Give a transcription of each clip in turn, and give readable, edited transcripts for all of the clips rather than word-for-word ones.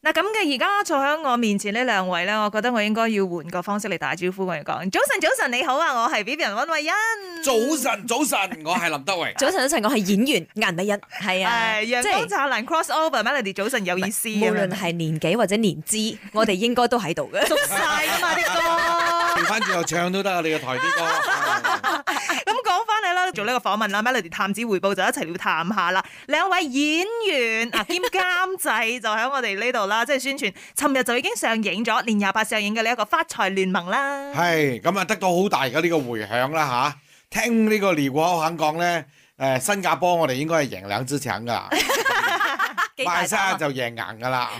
嗱咁嘅而家坐喺我面前呢兩位咧，我覺得我應該要換個方式嚟打招呼我哋講。早晨，你好啊，我係 Vivian 溫慧欣。 早晨，我係林德榮。 早晨，我係演員顏麗欣。係啊， 陽光燦爛 crossover Melody 早晨有意思。 無論係年紀或者年資，我哋應該都喺度嘅。 熟晒㗎嘛啲歌。 調翻轉又唱都得啊！你個台啲歌。 咁講翻嚟啦，做呢個訪問啦 ，Melody 探子回報就一齊要探下啦。兩位演員啊兼監製就喺我哋呢度啦，即係宣傳。尋日就已經上映咗，年28上映嘅呢一個發財聯盟啦。 係咁啊，得到好大嘅呢個迴響啦嚇。聽呢個李國豪肯講咧，新加坡我哋應該係贏兩支搶噶，馬來西亞就贏硬噶啦。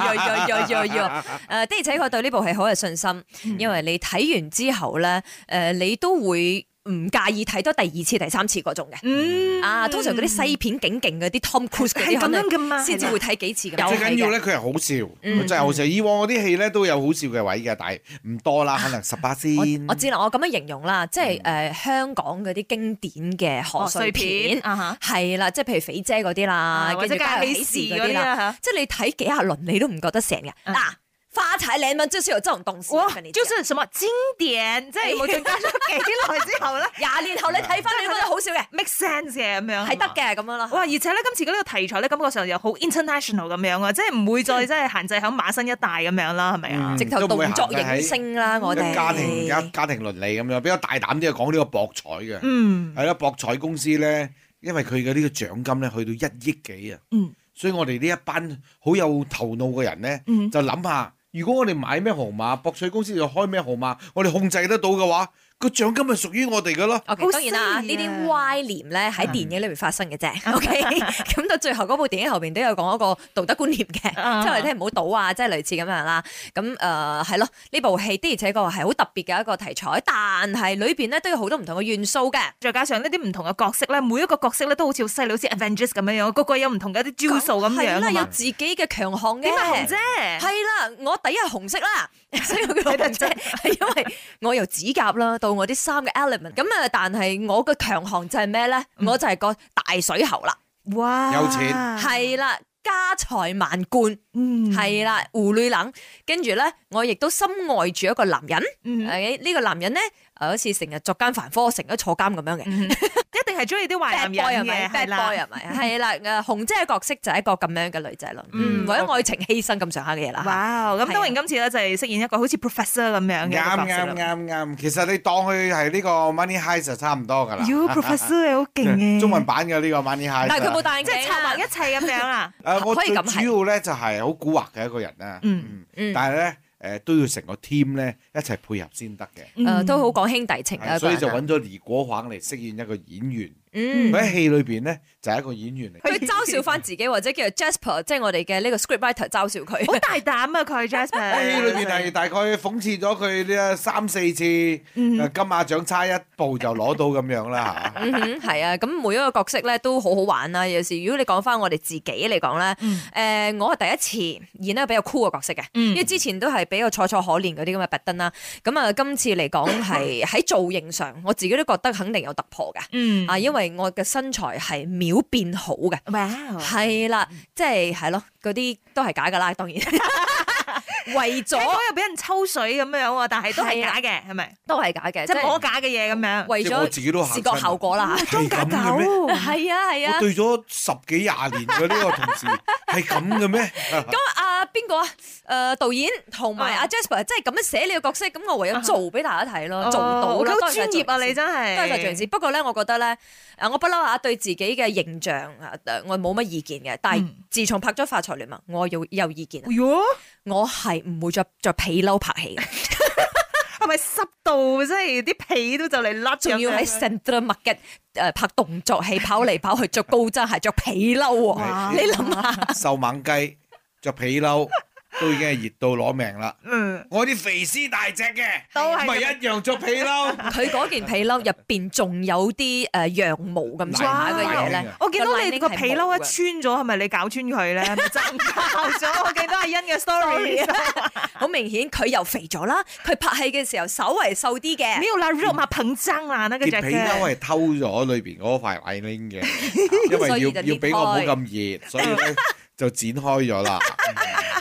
的而且確對呢部戲好有信心，因為你睇完之後咧，你都會唔介意睇多第二次、第三次嗰種嘅。通常嗰啲西片勁嗰啲 Tom Cruise 嗰啲，可能先至會睇幾次嘅。 最緊要咧，佢係好笑，佢真係好笑。以往嗰啲戲咧都有好笑嘅位嘅，但係唔多啦，可能18先。 我知啦，我咁樣形容啦，即係香港嗰啲經典嘅賀歲片，係啦，即係譬如肥姐嗰啲啦， 或者家有喜事嗰啲啦， 即係你睇幾廿輪你都唔覺得成嘅嗱。發財聯盟就是有這種東西， 就是什麼經典，即係無論隔咗幾耐之後咧 ，20年後你睇翻你覺得好笑嘅 ，make sense 嘅咁樣， 係得嘅咁樣啦。 哇！而且咧今次嘅呢個題材咧，感覺上又好 international 咁樣啊，即係唔會再即係限制喺馬新一帶咁樣啦，係咪啊？ 直頭動作影星啦，我哋家庭倫理咁樣，比較大膽啲講呢個博彩嘅，係啦，博彩公司咧，因為佢嘅呢個獎金咧去到1億幾啊，所以我哋呢一班好有頭腦嘅人咧，就諗下。如果我哋買咩號碼，博彩公司就開咩號碼，我哋控制得到嘅話，個獎金係屬於我哋嘅咯。 當然啦，呢啲歪念咧喺電影裏面發生嘅啫。OK，咁到最後嗰部電影後邊都有講一個道德觀念嘅，即係我哋聽唔好賭啊，即係類似咁樣啦。咁係咯，呢部戲的而且確係好特別嘅一個題材，但係裏邊咧都有好多唔同嘅元素嘅， 再加上呢啲唔同嘅角色咧，每一個角色咧都好似細佬似 Avengers 咁樣樣，個個有唔同嘅一啲招數咁樣。 係啦，有自己嘅強項嘅。 點解紅姐？ 係啦，我第一係紅色啦，所以我叫紅姐，係因為我由指甲啦到我啲衫嘅 element， 咁但係我嘅強項就係咩咧？我就係個大水喉啦， 哇， 有錢係啦，家財萬貫，係啦，胡女冷，跟住咧，我亦都深愛住一個男人，呢個男人咧，好似成日作奸犯科，成日坐監咁樣嘅。 一定係中意啲壞男人嘅， 係啦，係啦，紅姐嘅角色就係一個咁樣嘅女仔咯，為咗愛情犧牲咁上下嘅嘢啦。 哇！咁當然今次咧就係飾演一個好似 professor 咁樣嘅角色。 啱，其實你當佢係呢個 Money Heist 就差唔多噶啦。 professor 係好勁嘅， 中文版嘅呢個 Money Heist。 但係佢冇戴眼鏡， 即係策劃一切咁樣啦。 我最主要咧就係好蠱惑嘅一個人啦。但係咧。都要成個 team 咧一齊配合先得嘅。 都好講兄弟情啊。 所以就揾咗李國煌嚟飾演一個演員。佢喺戲裏邊咧就係一個演員嚟。 佢嘲笑翻自己或者叫做 Jasper， 即係我哋嘅呢個 scriptwriter 嘲笑佢。 好大膽啊佢 Jasper。 喺戲裏邊係大概諷刺咗佢呢3-4次金馬獎差一步就攞到咁樣啦嚇。 係啊，咁每一個角色咧都好好玩啦。有時如果你講翻我哋自己嚟講咧，我係第一次演一個比較酷嘅角色嘅，因為之前都係比較楚楚可憐嗰啲咁嘅拔登啦。咁啊，今次嚟講係喺造型上，我自己都覺得肯定有突破嘅。因為我嘅身材係秒變好嘅，係啦，即係咯，嗰啲都係假噶啦，當然。為咗又俾人抽水咁樣喎，但係都係假嘅，係咪？ 都係假嘅， 即係摸假嘅嘢咁樣。 為咗視覺效果啦， 裝假狗， 係啊。 我對咗10幾20年嘅呢個同事係咁嘅咩？ 咁邊個啊？導演同埋阿 Jasper 即係咁樣寫你個角色，咁我唯有做俾大家睇咯，做到啦。 好專業啊！你真係多謝做事。不過咧，我覺得咧，我不嬲對自己嘅形象我冇乜意見嘅。但係自從拍咗《發財聯盟》，我有意見。我係唔會着皮褸拍戲嘅。 係咪濕到即係啲皮都就嚟甩？ 仲要喺 Central Market 拍動作戲，跑嚟跑去着高踭鞋，着皮褸喎。你諗下， 瘦猛雞着皮褸。都已經係熱到攞命啦！我啲肥絲大隻嘅，都係咪一樣着皮褸？ 佢嗰件皮褸入邊仲有啲羊毛咁上下嘅嘢咧。 我見到你個皮褸一穿咗，係咪你搞穿佢咧？真爆咗！我見到阿欣嘅 story， 好明顯佢又肥咗啦。佢拍戲嘅時候稍為瘦啲嘅。 沒有啦，肉嘛膨脹啦，那個隻嘅。 皮褸係偷咗裏邊嗰塊外領嘅，因為要俾我冇咁熱，所以咧就剪開咗啦。 係咪咧？觀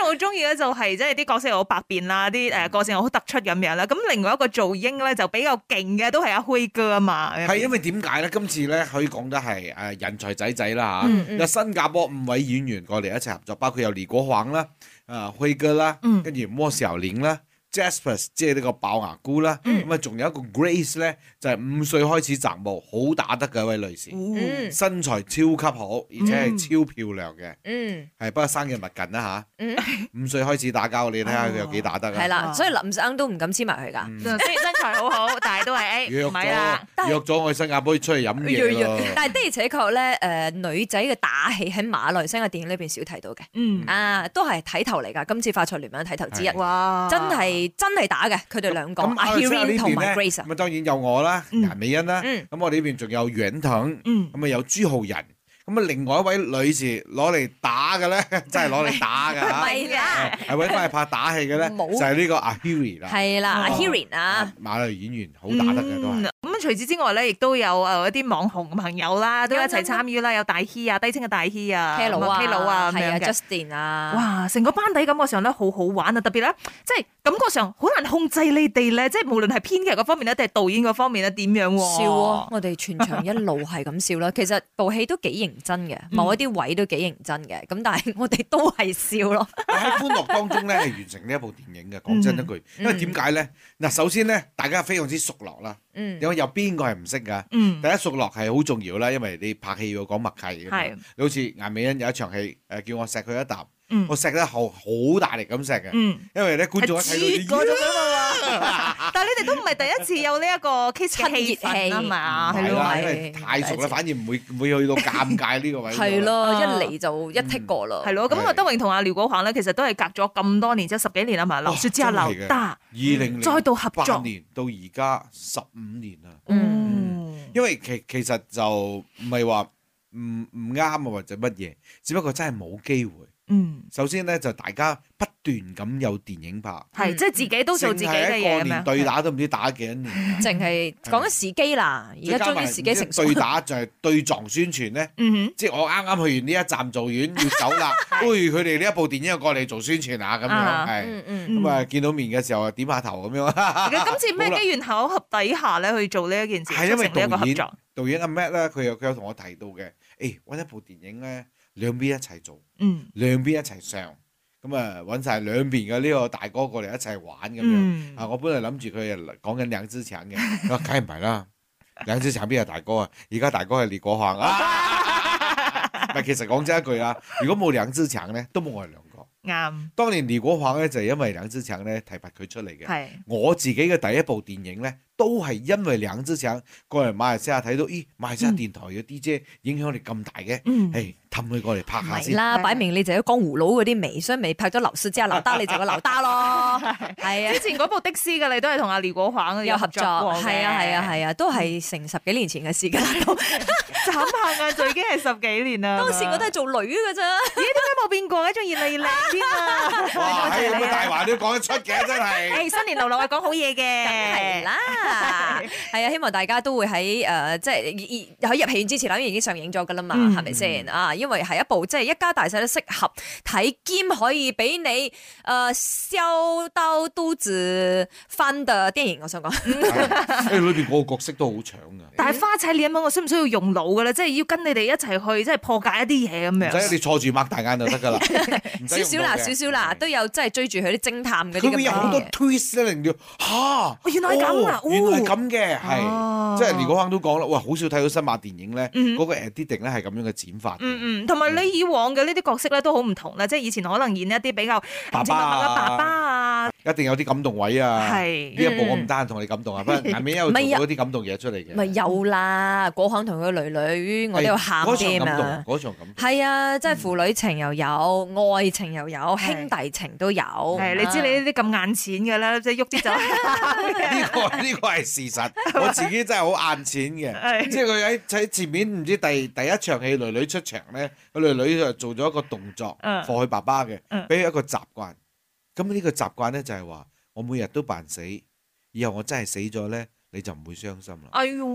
好中意咧就係即係啲角色好百變啦，啲個性好突出咁樣啦。咁另外一個做英咧就比較勁嘅都係阿輝哥啊嘛。 係因為點解咧？今次咧可以講得係人才仔啦嚇，有新加坡5位演員過嚟一齊合作，包括有李國煌啦、輝哥啦，跟住莫小玲啦。Jasper 即係呢個爆牙姑啦，咁啊仲有一個 Grace 咧，就係5歲開始習武，好打得嘅一位女士，身材超級好，而且係超漂亮嘅，係不過生日勿近啦嚇，5歲開始打交，你睇下佢有幾打得啊？ 係啦，所以林生都唔敢黐埋佢㗎。 雖然身材好好，但係都係唔係啦。 約咗我去新加坡出去飲嘢咯。 但係的而且確咧，女仔嘅打戲喺馬來西亞電影裏邊少睇到嘅，都係睇頭嚟㗎。今次發財聯盟睇頭之一，真係打嘅，佢哋兩個阿 Hirin 同埋 Grace。 咁當然有我啦，顏美欣啦，咁我哋呢邊仲有袁騰，咁啊有朱浩仁。咁啊，另外一位女士攞嚟打嘅咧，真係攞嚟打㗎嚇， 係㗎， 係揾翻嚟拍打戲嘅咧，就係呢個阿 Hirin 啦， 係啦，阿 Hirin 啊， 馬來演員好打得嘅都係。 咁除此之外咧，亦都有一啲網紅朋友啦，都一齊參與啦，有大希啊，低清嘅大希啊 K 佬啊， 係啊 ，Justin 啊， 哇，成個班底感覺上咧好好玩啊，特別咧，即係感覺上好難控制你哋咧，即係無論係編劇嗰方面咧，定係導演嗰方面咧，點樣笑啊！我哋全場一路係咁笑啦。其實部戲都幾認真嘅，某一啲位都幾認真嘅。咁但係我哋都係笑咯。 喺歡樂當中咧，係完成呢一部電影嘅。講真一句，因為點解咧？嗱，首先咧，大家非常之熟絡啦。因為有邊個係唔識㗎？第一熟絡係好重要啦，因為你拍戲要講默契嘅。你好似顏美欣有一場戲，叫我錫佢一啖。我錫得好大力咁錫嘅，因為咧觀眾一睇到但係你哋都唔係第一次有呢一個 kiss 嘅氣氛啊嘛， 係咯，因為太熟啦，反而唔會去到尷尬呢個位。 係咯，一嚟就一剔過啦。 係咯，咁啊德榮同阿廖國華咧，其實都係隔咗咁多年，即係10幾年啊嘛，流雪之下劉德 2008 再度合作年到而家15年啦。因為其實就唔係話唔啱啊或者乜嘢，只不過真係冇機會。首先咧就大家不斷咁有電影拍， 係即係自己都做自己嘅嘢， 過年對打都唔知打幾多年， 淨係講緊時機啦。而家終於時機成熟。 對打就係對撞宣傳咧，即係我啱啱去完呢一站做完要走啦，佢哋呢一部電影又過嚟做宣傳啊咁樣，係咁啊見到面嘅時候啊點下頭咁樣。 今次咩機緣巧合底下咧去做呢一件事？ 係因為導演阿 Matt 咧，佢有同我提到嘅，揾一部電影咧。兩邊一齊做，兩邊一齊上，咁啊揾晒兩邊嘅呢個大哥過嚟一齊玩咁樣。我本來諗住佢講緊梁志強嘅，佢話梗係唔係啦，梁志強邊係大哥啊？而家大哥係李國煌啊！唔係，其實講真一句啦，如果冇梁志強咧，都冇我哋兩個。 啱。 當年李國煌咧就係因為梁志強咧提拔佢出嚟嘅。我自己嘅第一部電影咧。都係因為梁志強過嚟馬來西亞睇到，馬來西亞電台嘅 DJ 影響力咁大嘅，氹佢過嚟拍下先。 啦，擺明你就係江湖佬嗰啲味，所以咪拍咗流蘇之後劉德，你就個劉德咯。係啊，之前嗰部的士嘅你都係同阿廖國華有合作過嘅。 係啊，都係成10幾年前嘅事㗎啦。 眨下眼就已經係10幾年啦。 當時我都係做女㗎咋。 咦？點解冇變過嘅？仲越嚟越靚啲啊！ 哇！咁嘅大話都講得出嘅，真係。 新年流流係講好嘢嘅。 係啦。係啊，希望大家都會喺即係喺入戲院之前，因為已經上映咗噶啦嘛，係咪先啊？因為係一部即係一家大細都適合睇兼可以俾你笑到肚子翻嘅電影。我想講， 裏邊嗰個角色都好搶噶。 但係花彩臉咁，我需唔需要用腦噶咧？即係要跟你哋一齊去，即係破解一啲嘢咁樣。 唔使，你坐住擘大眼就得噶啦。 少少啦，都有即係追住佢啲偵探嗰啲咁嘅嘢。 佢會有好多 twist 咧，令到原來係咁啊！ 原來係咁嘅，係即係連嗰刻都講啦，哇！好少睇到新馬電影咧，嗰個 editing 咧係咁樣嘅剪法。 同埋你以往嘅呢啲角色咧都好唔同啦，即係以前可能演一啲比較爸爸啊， 一定有啲感動位啊。 係呢一部我唔單同你感動啊，不過下面有做到啲感動嘢出嚟嘅。 咪有啦，國行同佢女，我都有喊啲啊。 嗰場感動係啊，即係父女情又有，愛情又有，兄弟情都有。 你知你呢啲咁眼淺嘅啦，即係喐啲就呢個係事實。我自己真係好眼淺嘅，即係佢喺前面唔知第一場戲，女出場咧，個女就做咗一個動作，放佢爸爸嘅，俾佢一個習慣。咁呢個習慣咧就係話，我每日都扮死，以後我真係死咗咧，你就唔會傷心啦。 哎呦！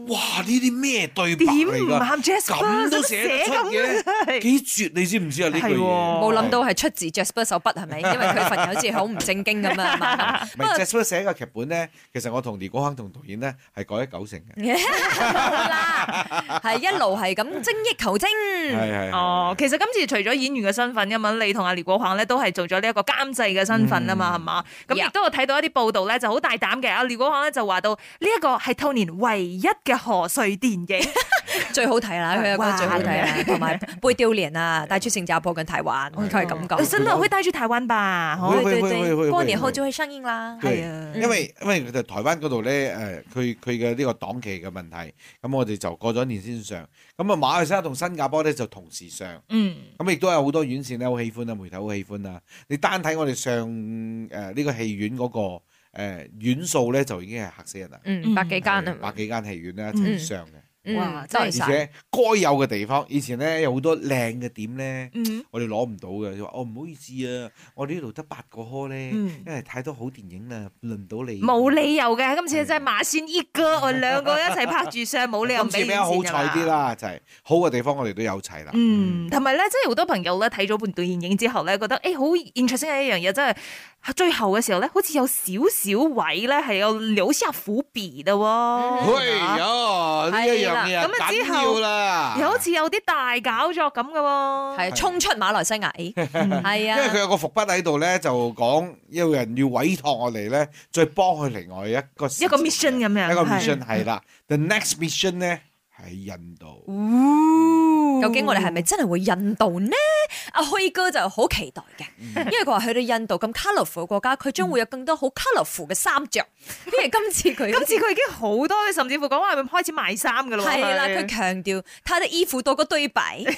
哇！呢啲咩對白點嚟㗎？ 唔啱 Jasper 咁都寫得出嘅，幾絕你知唔知啊？呢句嘢冇諗到係出自 Jasper 手筆係咪？因為佢份人好似好唔正經咁啊嘛。 唔係 Jasper 寫嘅劇本咧，其實我同李國亨同導演咧係改咗90%嘅。 冇啦，係一路係咁精益求精。 係哦，其實今次除咗演員嘅身份，因為你同阿廖國華咧都係做咗呢一個監製嘅身份啊嘛，係嘛？咁亦都有睇到一啲報道咧，就好大膽嘅。阿廖國華咧就話到呢一個係兔年唯一嘅賀歲電影， 最好睇啦，佢有個最好睇啦，同埋《背丟臉》啊，帶出新加坡跟台灣，佢係咁講。 真的會帶去台灣吧？ 對，過年後就會上映啦。係啊， 因為佢哋台灣嗰度咧佢嘅呢個檔期嘅問題，咁我哋就過咗年先上。咁啊馬來西亞同新加坡咧就同時上。咁亦都有好多院線咧好喜歡啊，媒體好喜歡啊。你單睇我哋上呢個戲院嗰個院數咧，就已經係嚇死人啦。 百幾間啊， 百幾間戲院咧一齊上嘅。 哇！ 真係而且該有嘅地方，以前咧有好多靚嘅點咧，我哋攞唔到嘅。就話唔好意思啊，我哋呢度得8個開咧，因為太多好電影啦，輪唔到你。 冇理由嘅，今次真係馬先一哥，我兩個一齊拍住上，冇理由唔俾錢㗎嘛。 今次比較好彩啲啦，就係好嘅地方我哋都有齊啦。 同埋咧，即係好多朋友咧睇咗半段電影之後咧，覺得好 interesting 嘅一樣嘢，真係最後嘅時候咧，好似有少少位咧係有留下伏筆嘅喎。 哎呀，呢一樣嘢緊要啦， 又好似有啲大搞作咁嘅喎。 係衝出馬來西亞，係啊， 因為佢有個伏筆喺度咧，就講有人要委託我哋咧，再幫佢另外一個 mission 咁樣。 一個 mission 係啦，the next mission 咧係印度。 究竟我哋係咪真係會印度呢？阿輝哥就好期待嘅，因為佢話去到印度咁 colourful 嘅國家，佢將會有更多好 colourful 嘅衫着。因為今次佢已經好多，甚至乎講話係咪開始賣衫㗎啦？ 係啦，佢強調他的衣服多過對白。對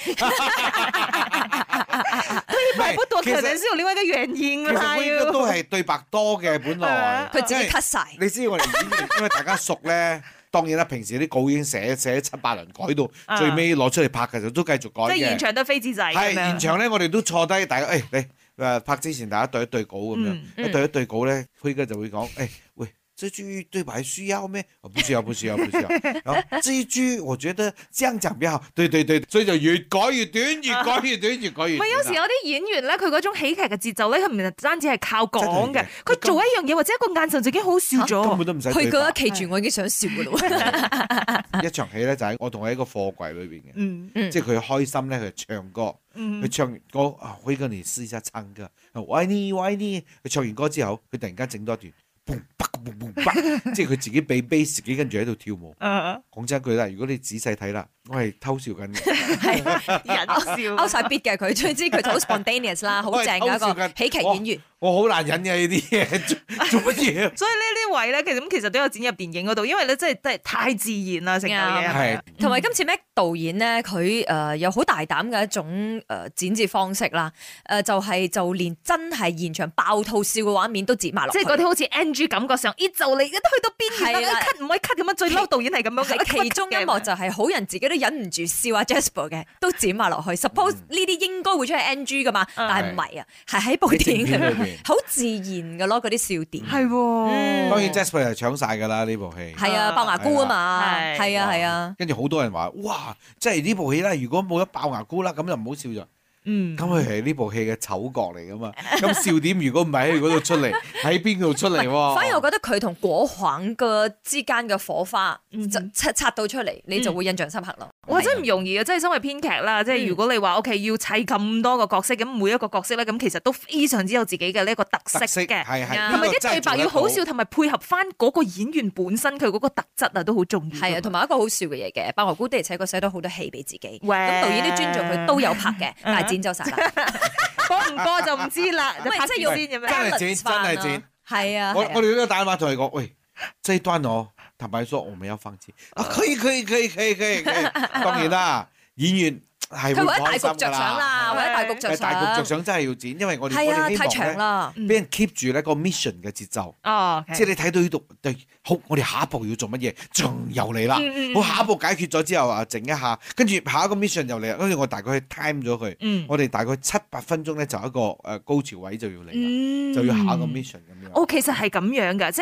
白不多，可能是有另外一個原因啦。 其實應該都係對白多嘅，本來佢自己 cut 晒。 你知我哋演員，因為大家熟咧。當然啦，平時啲稿已經寫7、8輪，改到最尾攞出嚟拍嘅時候都繼續改嘅。 即係現場都飛紙仔。 係現場咧，我哋都坐低，大家你拍之前大家對一對稿咁樣，一對稿咧，輝哥就會講喂。這句對白需要咩？不需要。然後這一句我覺得這樣講比較好。對，所以就越改越短，越改越短。唔係有時有啲演員咧，佢嗰種喜劇嘅節奏咧，佢唔係單止係靠講嘅，佢做一樣嘢或者一個眼神就已經好笑咗。 根本都唔使。 佢覺得企住我已經想笑噶啦。 一場戲咧就係我同佢喺個貨櫃裏邊嘅，即係佢開心咧，佢唱歌，佢唱歌輝哥你試一下唱歌，我愛你。佢唱完歌之後，佢突然間整多一段。即係佢自己俾 bass 自己跟住喺度跳舞。講真一句啦，如果你仔細睇啦，我係偷笑緊嘅， 係人笑勾晒 beat 嘅佢，總之佢就好 spontaneous 啦，好正嘅一個喜劇演員。 我好難忍嘅呢啲嘢，做乜嘢？ 所以呢啲位咧，其實都有剪入電影嗰度，因為咧真係太自然啦，成個嘢。 係同埋今次 Mac 導演咧，佢有好大膽嘅一種剪接方式啦，就連真係現場爆肚笑嘅畫面都剪埋落， 即係嗰啲好似 NG 感覺上，就嚟去到邊緣啦，cut 唔可以 cut 咁樣，最嬲導演係咁樣嘅。 其中一幕就係好人自己都忍唔住笑阿 Jasper 嘅，都剪埋落去。Suppose 呢啲應該會出係 NG 噶嘛，但係唔係啊，係喺部電影裏面好自然嘅咯，嗰啲笑點。 係喎， 當然 Jasper 係搶晒㗎啦呢部戲。 係啊，爆牙菇啊嘛，係啊。 跟住好多人話：哇，即係呢部戲咧，如果冇咗爆牙菇啦，咁就唔好笑咗。咁佢係呢部戲嘅丑角嚟噶嘛？咁笑點如果唔係喺嗰度出嚟，喺邊度出嚟喎？ 反而我覺得佢同國行嘅之間嘅火花就擦到出嚟，你就會印象深刻咯。 哇！真係唔容易啊！即係身為編劇啦，即係如果你話 OK 要砌咁多個角色，咁每一個角色咧，咁其實都非常之有自己嘅呢一個特色嘅， 係同埋啲對白要好笑，同埋配合翻嗰個演員本身佢嗰個特質啊，都好重要。 係啊，同埋一個好笑嘅嘢嘅，爆牙菇的而且確寫到好多戲俾自己，咁導演都尊重佢，都有拍嘅，但係剪走晒啦， 播唔播就唔知啦。 即係要先咁樣， 真係剪，真係剪。 係啊， 我哋呢個打電話同佢講，喂，這一段哦，坦白說，我們要放棄。可以。當然啦，演員係會佢為咗大局着想啦，為咗大局着想。 大局着想真係要剪，因為我哋太長啦， 俾人 keep 住呢個 mission 嘅節奏。即係你睇到呢度，好，我哋下一步要做乜嘢？仲又嚟啦！好，下一步解決咗之後啊，靜一下，跟住下一個 mission 又嚟啦。跟住我大概 time 咗佢，我哋大概7-8分鐘咧就一個高潮位就要嚟啦，就要下一個 mission 咁樣。 其實係咁樣㗎，即係。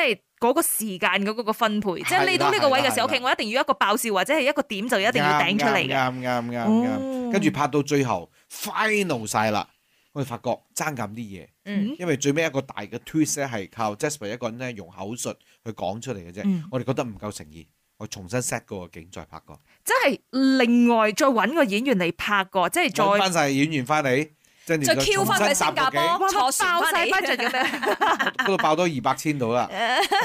嗰個時間嗰個分配，即係你到呢個位嘅時候，OK，我一定要一個爆笑或者係一個點就一定要頂出嚟嘅。 啱。跟住拍到最後 final 晒啦，我哋發覺爭咁啲嘢，因為最尾一個大嘅 twist 咧係靠 Jasper 一個人咧用口述去講出嚟嘅啫。我哋覺得唔夠誠意，我重新 set 嗰個景再拍過。 即係另外再揾個演員嚟拍過，即係再揾翻曬演員翻嚟。再 Q 翻去新加坡，坐船爆晒 budget 咁樣， 嗰度爆多200千到啦。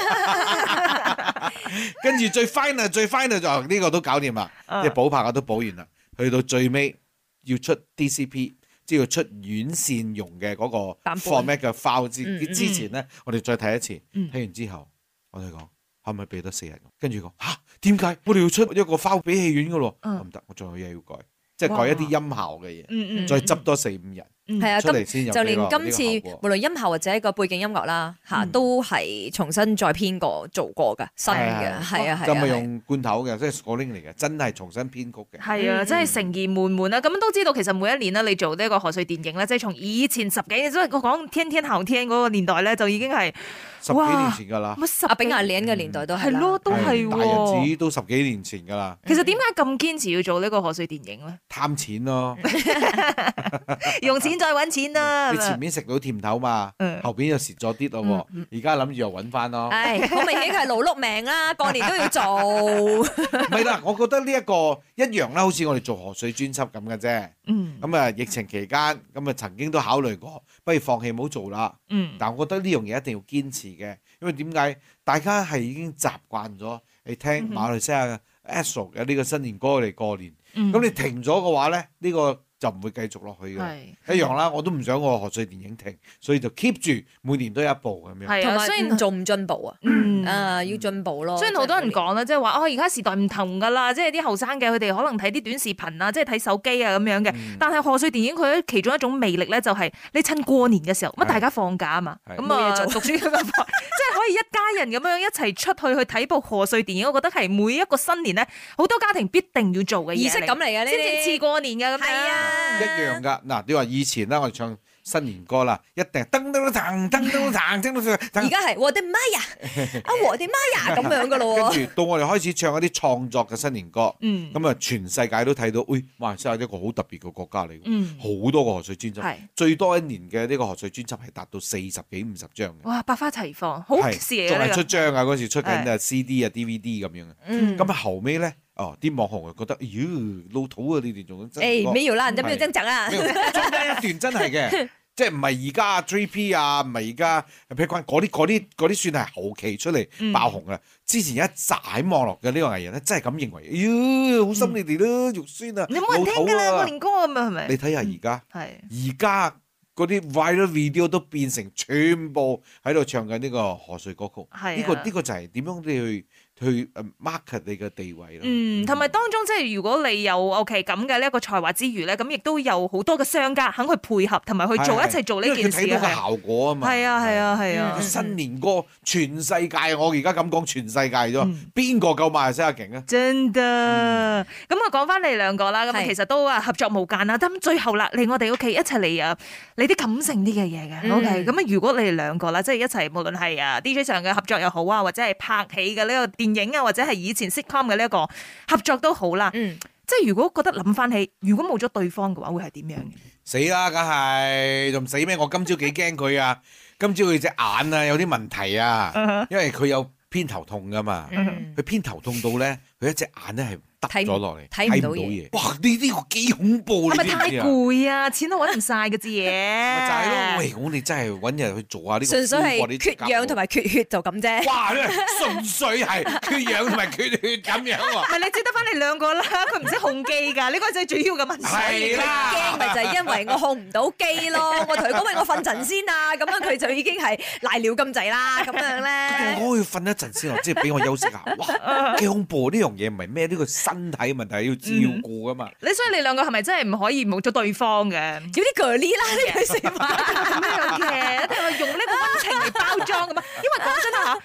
跟住最 final 就呢個都搞掂啦，即係補拍嘅都補完啦。去到最尾要出 DCP， 即係要出院線用嘅嗰個 format 嘅 file 之前咧，我哋再睇一次。睇完之後，我哋講可唔可以俾多4日？跟住講嚇點解我哋要出一個 file 俾戲院嘅咯？唔得，我仲有嘢要改。即係改一啲音效嘅嘢，再執多4-5日， 係啊， 出嚟先有就連今次無論音效或者一個背景音樂啦，都係重新再編過做過㗎，新嘅，係啊， 就咪用罐頭嘅，即係 scoring 嚟嘅，真係重新編曲嘅。 係啊，真係誠意滿滿啦！咁都知道其實每一年咧，你做呢一個賀歲電影咧，即係從以前10幾年，即係我講天天後天嗰個年代咧，就已經係 10幾年前㗎啦。 阿炳阿蓮嘅年代都係咯，都係大日子都10幾年前㗎啦。 其實點解咁堅持要做呢個賀歲電影咧？ 貪錢咯， 用錢再揾錢啦。 你前面食到甜頭嘛，後邊又蝕咗啲咯喎，而家諗住又揾翻咯。 唉，好明顯佢係勞碌命啦，過年都要做。 唔係啦，我覺得呢一個一樣啦，好似我哋做賀歲專輯咁嘅啫。咁啊，疫情期間咁啊，曾經都考慮過，不如放棄唔好做啦。但係我覺得呢樣嘢一定要堅持嘅，因為點解大家係已經習慣咗你聽馬來西亞嘅 Astro 嘅呢個新年歌嚟過年。咁你停咗嘅話咧，呢個就唔會繼續落去嘅，一樣啦。我都唔想我賀歲電影停，所以就 keep 住每年都有一部咁樣。 係啊，雖然做唔進步啊，要進步咯。 雖然好多人講啦，即係話而家時代唔同㗎啦，即係啲後生嘅佢哋可能睇啲短視頻啊，即係睇手機啊咁樣嘅。但係賀歲電影佢其中一種魅力咧，就係你趁過年嘅時候，大家放假啊嘛，咁啊讀書咁樣，即係可以一家人咁樣一齊出去睇部賀歲電影。我覺得係每一個新年咧，好多家庭必定要做嘅嘢， 儀式感嚟嘅呢啲， 先至似過年嘅咁樣。係啊。 一樣噶，嗱，你話以前啦，我哋唱新年歌啦，一定噔噔噔噔噔噔噔， 而家係我的媽呀，我的媽呀咁樣噶咯。 跟住到我哋開始唱一啲創作嘅新年歌，咁啊全世界都睇到，馬來西亞一個好特別嘅國家嚟，好多個賀歲專輯，最多一年嘅呢個賀歲專輯係達到40幾50張嘅。 哇，百花齊放，好事嚟嘅。 仲係出張啊，嗰時出緊CD 啊 DVD 咁樣嘅。咁啊後尾咧。啲網紅又覺得，老土啊！你哋仲沒有啦，人家沒有增長啊。 中間一段真係嘅，即係唔係而家 3P 啊，唔係而家譬如嗰啲算係後期出嚟爆紅啊。之前一紮喺網絡嘅呢個藝人咧，真係咁認為，好心你哋咯，肉酸啊， 你冇人聽㗎啦，過年歌咁啊，係咪？ 你睇下而家嗰啲 viral video 都變成全部喺度唱緊呢個賀歲歌曲。呢個就係點樣你去 market 你嘅地位咯。 同埋當中即係如果你有 OK 咁嘅呢一個才華之餘咧，咁亦都有好多嘅商家肯去配合同埋去做一齊做呢件事。 因為佢睇到個效果啊嘛。 係啊。 新年歌全世界，我而家咁講全世界咗，邊個夠馬來西亞勁啊？ 真㗎。咁啊講翻你兩個啦，咁其實都合作無間啦。咁最後啦，嚟我哋屋企一齊嚟你啲感性啲嘅嘢嘅。OK，咁啊如果你哋兩個啦，即係一齊無論係DJ 上嘅合作又好啊，或者係拍戲嘅呢個電影啊，或者係以前 sitcom 嘅呢一個合作都好啦。即係如果覺得諗翻起，如果冇咗對方嘅話，會係點樣嘅？ 死啦，梗係仲死咩？我今朝幾驚佢啊！今朝佢隻眼啊有啲問題啊，因為佢有偏頭痛噶嘛。佢偏頭痛到咧，佢一隻眼咧係耷咗落嚟，睇唔到嘢。哇！呢個幾恐怖， 係咪太攰啊？錢都揾唔晒嘅啫嘢。 咪就係咯，喂！我哋真係揾人去做下呢個。 純粹係缺氧同埋缺血就咁啫。 哇！純粹係缺氧同埋缺血咁樣喎。 唔係你只得翻你兩個啦，佢唔識控機㗎，呢個就係主要嘅問題。 係啦， 驚咪就係因為我控唔到機咯。我同佢講，喂，我瞓陣先啊，咁樣佢就已經係賴尿咁滯啦，咁樣咧。 我要瞓一陣先，即係俾我休息下。哇！幾恐怖，呢樣嘢唔係咩？呢個身體問題要照顧噶嘛。 所以你兩個係咪真係唔可以冇咗對方嘅？ 有啲鋸呢啦，呢句説話咁樣嘅，一定係用呢個溫情嚟包裝噶嘛。因為講真嚇，冇乜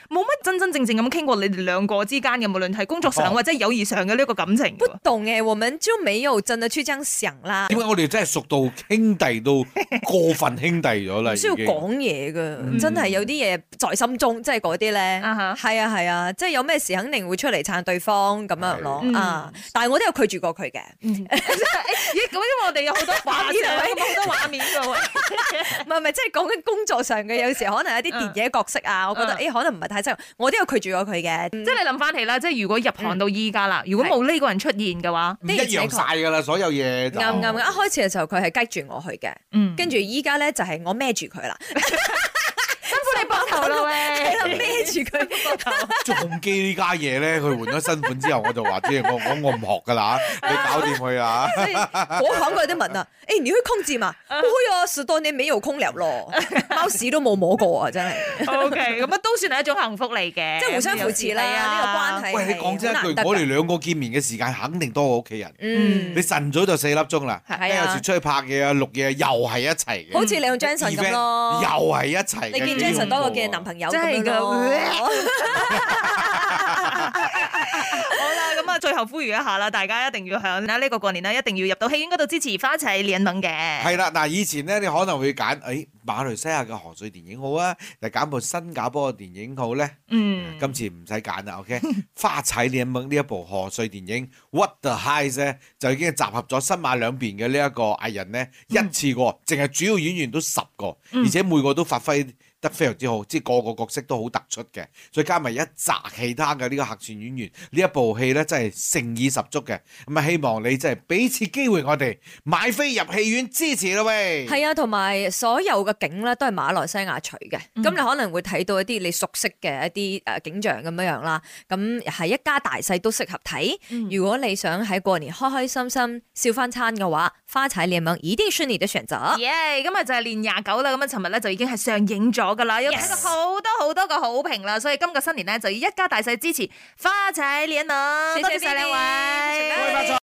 真真正正咁傾過你哋兩個之間嘅，無論係工作上或者友誼上嘅呢個感情。 不懂誒，我們就沒有真的去這樣想啦。 點解我哋真係熟到兄弟到過分兄弟咗啦？ 唔需要講嘢噶，真係有啲嘢在心中，即係嗰啲咧，係啊，即係有咩事肯定會出嚟撐對方咁樣咯。但係我都有拒絕過佢嘅。 咦，咁因為我哋有好多畫面，好多畫面噶喎。 唔係，即係講緊工作上嘅，有時可能有啲電影角色啊，我覺得可能唔係太適合，我都有拒絕過佢嘅。 即係你諗翻起啦，即係如果入行到依家啦，如果冇呢個人出現嘅話， 一樣晒噶啦，所有嘢。 啱，一開始嘅時候佢係激住我去嘅，跟住依家咧就係我孭住佢啦。 辛苦你膊頭啦喂， 係啦，孭住佢膊頭。 重機呢家嘢咧，佢換咗新款之後，我就話即係我唔學噶啦，你搞掂佢啊！ 我行過有啲問啊，你會空字嘛？會啊，10多年沒有空了咯，貓屎都冇摸過啊，真係。 OK，咁啊都算係一種幸福嚟嘅， 即係互相扶持啦，呢個關係。 喂，你講真一句，我哋兩個見面嘅時間肯定多過屋企人。你晨早就4粒鐘啦，有時出去拍嘢啊、錄嘢又係一齊嘅。 好似你同 Jason 咁咯， 又係一齊。 你見 Jason 多過見男朋友咁樣咯。 好啦，咁啊，最後呼籲一下啦，大家一定要響呢個過年啦，一定要入到戲院嗰度支持花齊聯盟嘅。 係啦，嗱，以前咧你可能會揀，馬來西亞嘅賀歲電影好啊，定揀部新加坡嘅電影好咧？今次唔使揀啦 ，OK？ 花齊聯盟呢一部賀歲電影 What the Heist 咧，就已經集合咗新馬兩邊嘅呢一個藝人咧，一次過，淨係主要演員都10個，而且每個都發揮得非常之好，即係個角色都好突出嘅，再加埋一紮其他嘅呢個客串演員，呢一部戲咧真係誠意十足嘅。咁啊，希望你真係俾次機會我哋買飛入戲院支持啦喂。 係啊，同埋所有嘅景咧都係馬來西亞取嘅，咁你可能會睇到一啲你熟悉嘅一啲景象咁樣樣啦。咁係一家大細都適合睇。如果你想喺過年開開心心笑翻餐嘅話，花齊聯盟一定是你的選擇。 耶！今日就係年29啦，咁啊，尋日咧就已經係上映咗噶啦，有睇到好多個好評啦，所以今個新年咧就要一家大細支持花齊聯盟。多謝晒兩位。